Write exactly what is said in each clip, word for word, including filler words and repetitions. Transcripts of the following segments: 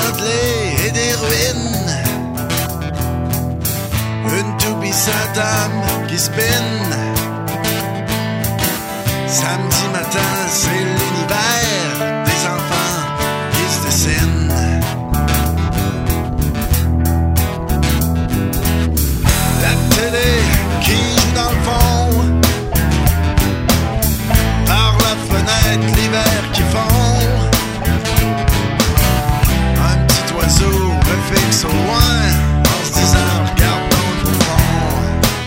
démantelés et des ruines. Une toupie Saddam qui spinne. Samedi matin, c'est l'univers des enfants qui se dessinent. La télé qui joue dans le fond. Par la fenêtre, l'hiver qui fond. Un petit oiseau me fixe au loin en se disant regardons le fond.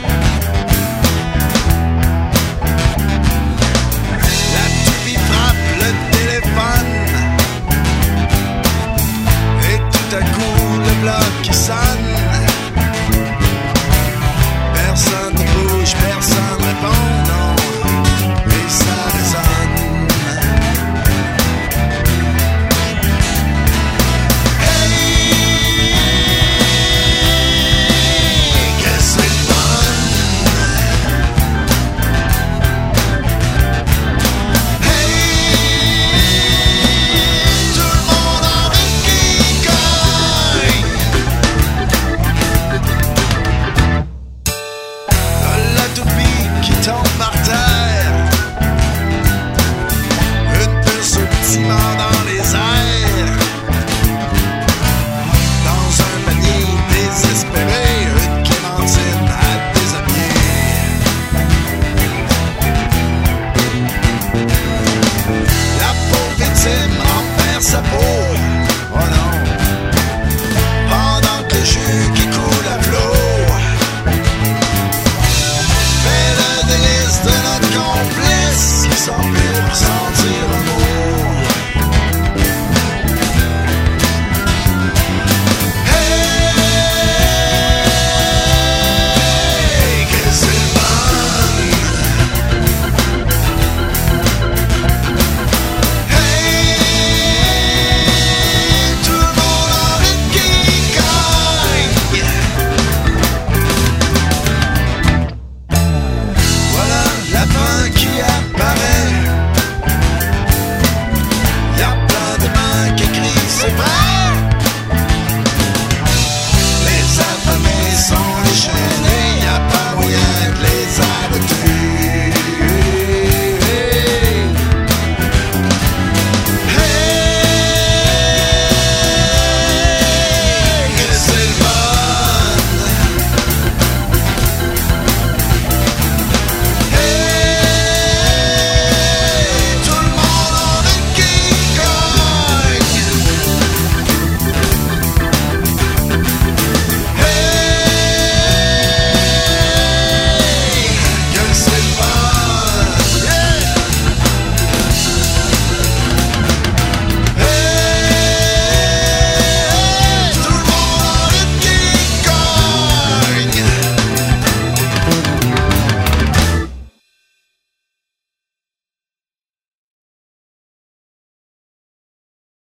La toupie frappe le téléphone et tout à coup le bloc qui sonne.